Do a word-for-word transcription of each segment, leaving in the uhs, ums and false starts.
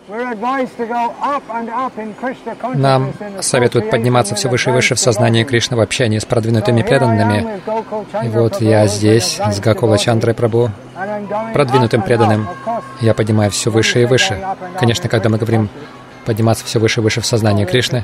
Нам советуют подниматься все выше и выше в сознании Кришны в общении с продвинутыми преданными. И вот я здесь с Гакула Чандрой Прабху, продвинутым преданным. Я поднимаю все выше и выше. Конечно, когда мы говорим подниматься все выше и выше в сознании Кришны,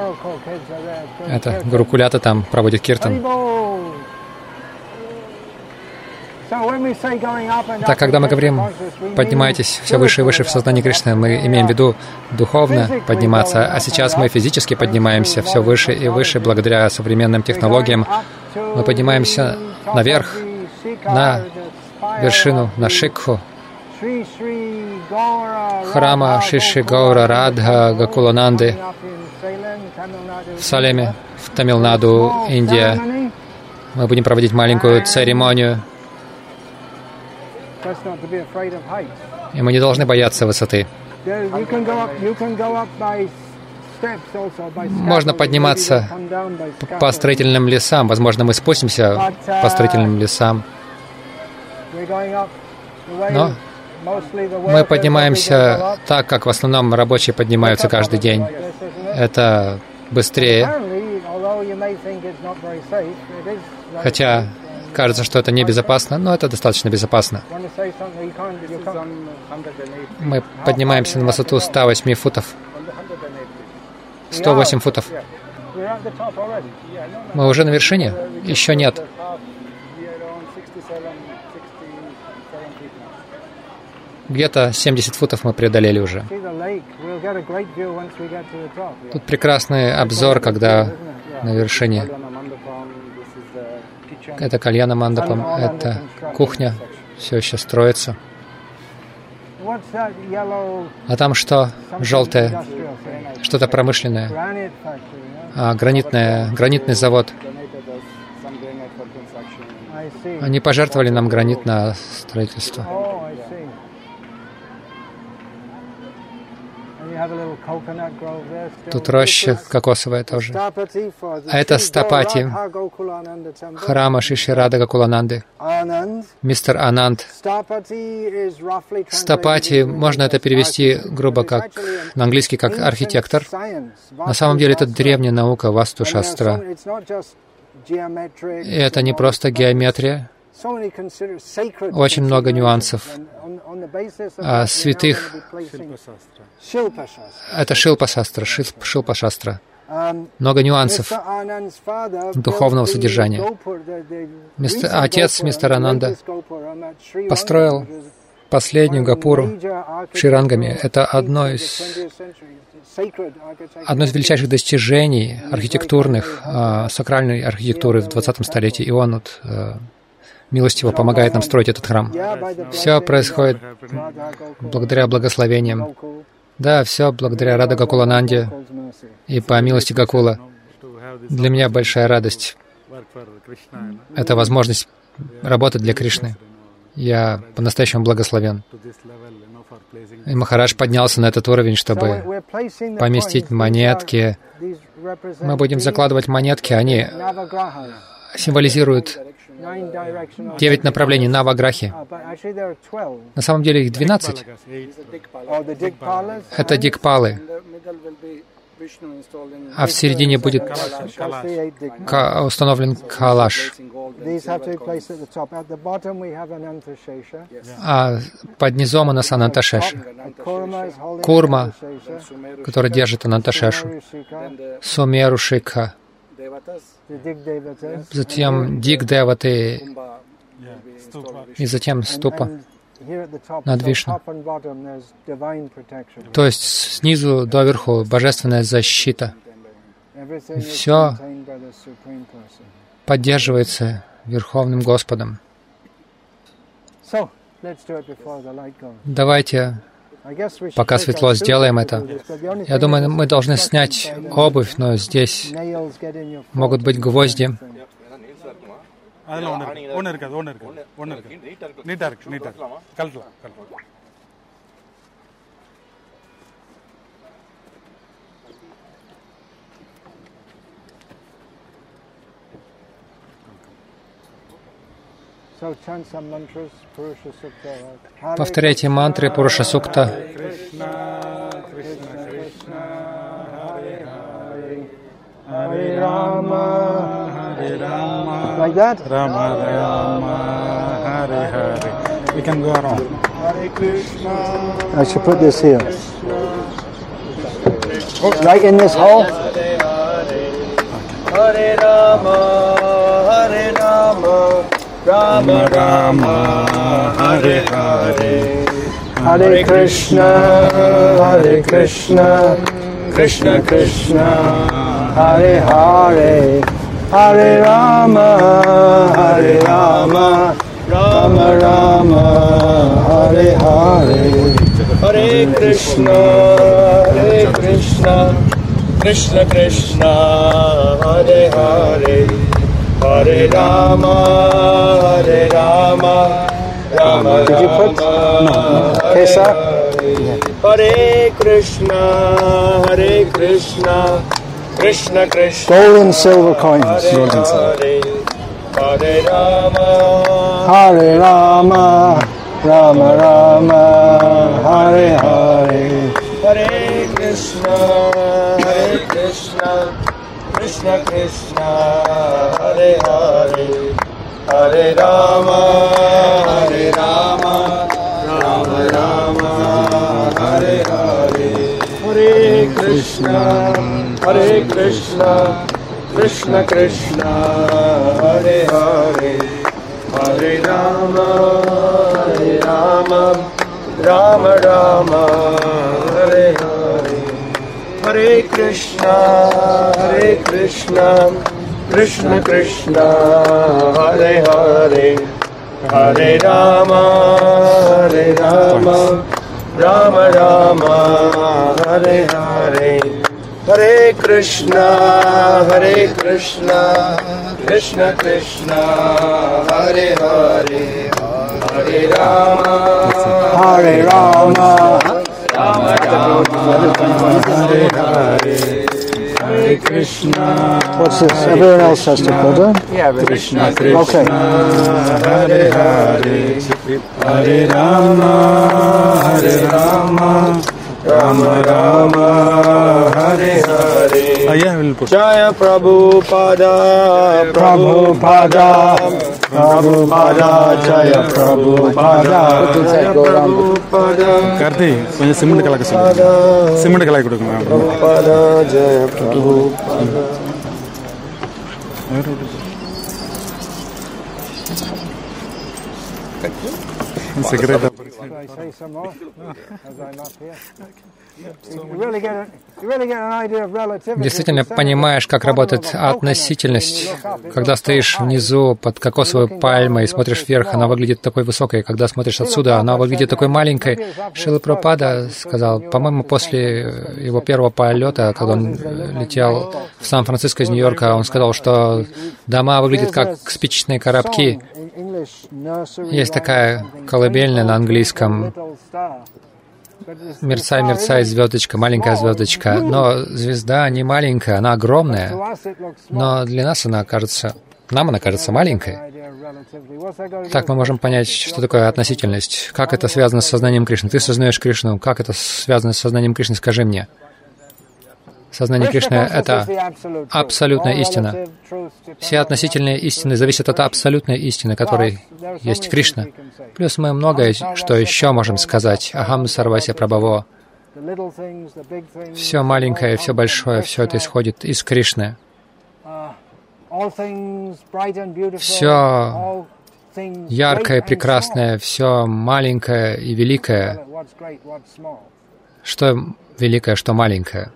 это Гурукулята там проводит киртан. Так, когда мы говорим «поднимайтесь все выше и выше в сознании Кришны», мы имеем в виду духовно подниматься, а сейчас мы физически поднимаемся все выше и выше благодаря современным технологиям. Мы поднимаемся наверх, на вершину, на Шикху, храма Шиши Гаура Радха Гакулананды в Салеме, в Тамилнаду, Индия. Мы будем проводить маленькую церемонию. И мы не должны бояться высоты. Можно подниматься по строительным лесам. Возможно, мы спустимся по строительным лесам. Но мы поднимаемся так, как в основном рабочие поднимаются каждый день. Это быстрее. Хотя кажется, что это небезопасно, но это достаточно безопасно. Мы поднимаемся на высоту сто восемь футов. сто восемь футов. Мы уже на вершине? Еще нет. Где-то семьдесят футов мы преодолели уже. Тут прекрасный обзор, когда на вершине. Это кальяна мандапам, это кухня, все еще строится. А там что? Желтое? Что-то промышленное? А, гранитное, гранитный завод. Они пожертвовали нам гранит на строительство. Тут роща кокосовая тоже. А это Стапати, храма Шиши Рада Гакулананды. Мистер Ананд. Стапати, можно это перевести грубо как на английский как архитектор. На самом деле это древняя наука Васту Шастра. И это не просто геометрия. Очень много нюансов. А святых — это Шилпа-шастра, Шилпа-шастра. Много нюансов духовного содержания. Мистер, отец мистера Ананда построил последнюю гопуру в Шрирангаме. Это одно из, одно из величайших достижений архитектурных, сакральной архитектуры в двадцатом столетии. И он вот милостиво помогает нам строить этот храм. Все происходит благодаря благословениям. Да, все благодаря Рада Гакулананде и по милости Гакула. Для меня большая радость — это возможность работать для Кришны. Я по-настоящему благословен. И Махарадж поднялся на этот уровень, чтобы поместить монетки. Мы будем закладывать монетки, они символизируют девять направлений Наваграхи. На самом деле их двенадцать. Это дикпалы. А в середине будет установлен калаш. А под низом у нас Ананташеша. Курма, который держит Ананташешу. Сумерушикха. Затем Дик-деваты. И затем ступа над Вишну. То есть снизу доверху божественная защита. И все поддерживается Верховным Господом. Давайте, пока светло, сделаем это. Я думаю, мы должны снять обувь, но здесь могут быть гвозди. Повторяйте мантры Пуруша Сукта. like that. Rama Rama Hare Hare. We can go around. I should put this here. Right in this hole. Hare Rama, Hare Rama, Rama Rama, Hare Hare. Hare Krishna, Hare Krishna, Krishna Krishna, Hare Hare. Hare Rama, Hare Rama, Rama Rama, Hare Hare. Hare Krishna, Hare Krishna, Krishna Krishna, Hare Hare. Hare Rama, Hare Rama, Rama Did you put Rama, Kesa? Hare Krishna, Hare Krishna, Krishna Krishna, Gold and silver coins. Gold and silver. Hare Rama, Hare Rama, Rama Rama, Hare Hare. Hare Krishna, Hare Krishna, Krishna Krishna, Hare Hare. Hare Rama, Hare Rama, Rama Rama, Hare Hare. Hare Krishna, Hare Krishna, Krishna Krishna, Hare Hare. Hare Rama, Hare Rama, Rama Rama, Hare Hare. Hare Krishna, Hare Krishna, Krishna Krishna, Hare Hare. Hare Rama, Hare Rama, Rama Rama, Hare Hare. Hare Krishna, Hare Krishna, Krishna Krishna, Hare Hare. Hare Rama, Hare Rama, Rama Rama, Hare Hare. Hare Krishna. What's this? Everyone else has to put it. Yeah, Krishna Krishna. Okay. Hare Hare. Hare Rama, Hare Rama, Rama Rama, Hare Hare. Uh, yeah, we'll put. Jaya Prabhupada, Prabhupada, Prabhupada, Jaya Prabhupada, Jaya Prabhupada, Karthi, கொஞ்சம் சிமெண்ட் கலக்க சொல்லுங்க. சிமெண்ட் கலக்க கொடுங்க. Prabhupada, Jaya Prabhupada. Cigarette. Should I say some more? As I'm up here. You really get a, you really get an idea of relativity. Действительно понимаешь, как работает относительность. Когда стоишь внизу под кокосовой пальмой и смотришь вверх, она выглядит такой высокой. Когда смотришь отсюда, она выглядит такой маленькой. Шрила Прабхупада сказал, по-моему, после его первого полета, когда он летел в Сан-Франциско из Нью-Йорка, он сказал, что дома выглядят как спичечные коробки. Есть такая колыбельная на английском. Мерцай, мерцай, звездочка, маленькая звездочка. Но звезда не маленькая, она огромная. Но для нас она кажется, нам она кажется маленькой. Так мы можем понять, что такое относительность. Как это связано с сознанием Кришны? Ты сознаешь Кришну. Как это связано с сознанием Кришны? Скажи мне. Сознание Кришны — это абсолютная истина. Все относительные истины зависят от абсолютной истины, которой есть Кришна. Плюс мы многое, что еще можем сказать. Ахам сарвася прабхаво. Все маленькое, все большое, все это исходит из Кришны. Все яркое, прекрасное, все маленькое и великое. Что великое, что маленькое.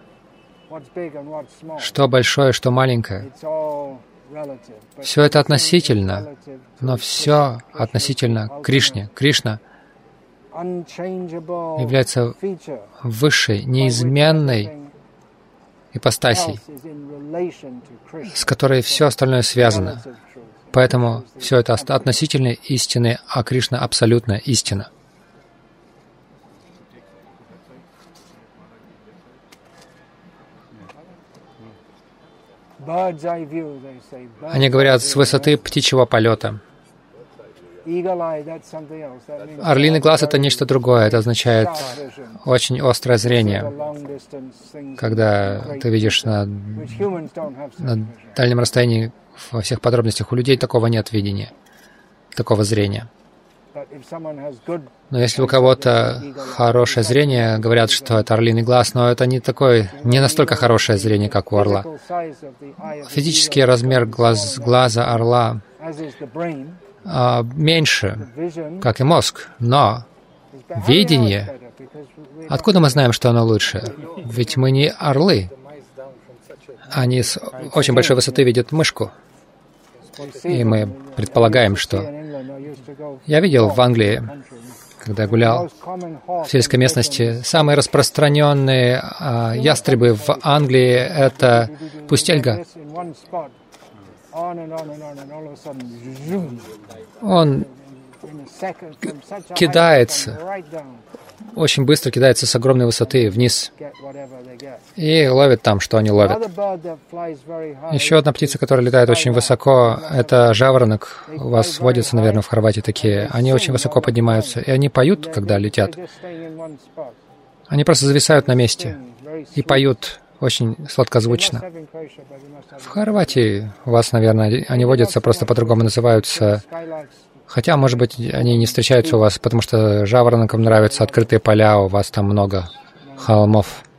Что большое, что маленькое. Все это относительно, но все относительно Кришне. Кришна является высшей, неизменной ипостасей, с которой все остальное связано. Поэтому все это относительные истины, а Кришна — абсолютная истина. Они говорят с высоты птичьего полета. Орлиный глаз — это нечто другое. Это означает очень острое зрение, когда ты видишь на, на дальнем расстоянии во всех подробностях. У людей такого нет видения, такого зрения. Но если у кого-то хорошее зрение, говорят, что это орлиный глаз, но это не такой, не настолько хорошее зрение, как у орла. Физический размер глаз, глаза орла а, меньше, как и мозг, но видение, откуда мы знаем, что оно лучше? Ведь мы не орлы. Они с очень большой высоты видят мышку. И мы предполагаем, что... Я видел в Англии, когда я гулял в сельской местности, самые распространенные а, ястребы в Англии — это пустельга. Он кидается, очень быстро кидается с огромной высоты вниз и ловит там, что они ловят. Еще одна птица, которая летает очень высоко, это жаворонок. У вас водятся, наверное, в Хорватии такие. Они очень высоко поднимаются, и они поют, когда летят. Они просто зависают на месте и поют очень сладкозвучно. В Хорватии у вас, наверное, они водятся, просто по-другому называются. Хотя, может быть, они не встречаются у вас, потому что жаворонкам нравятся открытые поля, у вас там много холмов.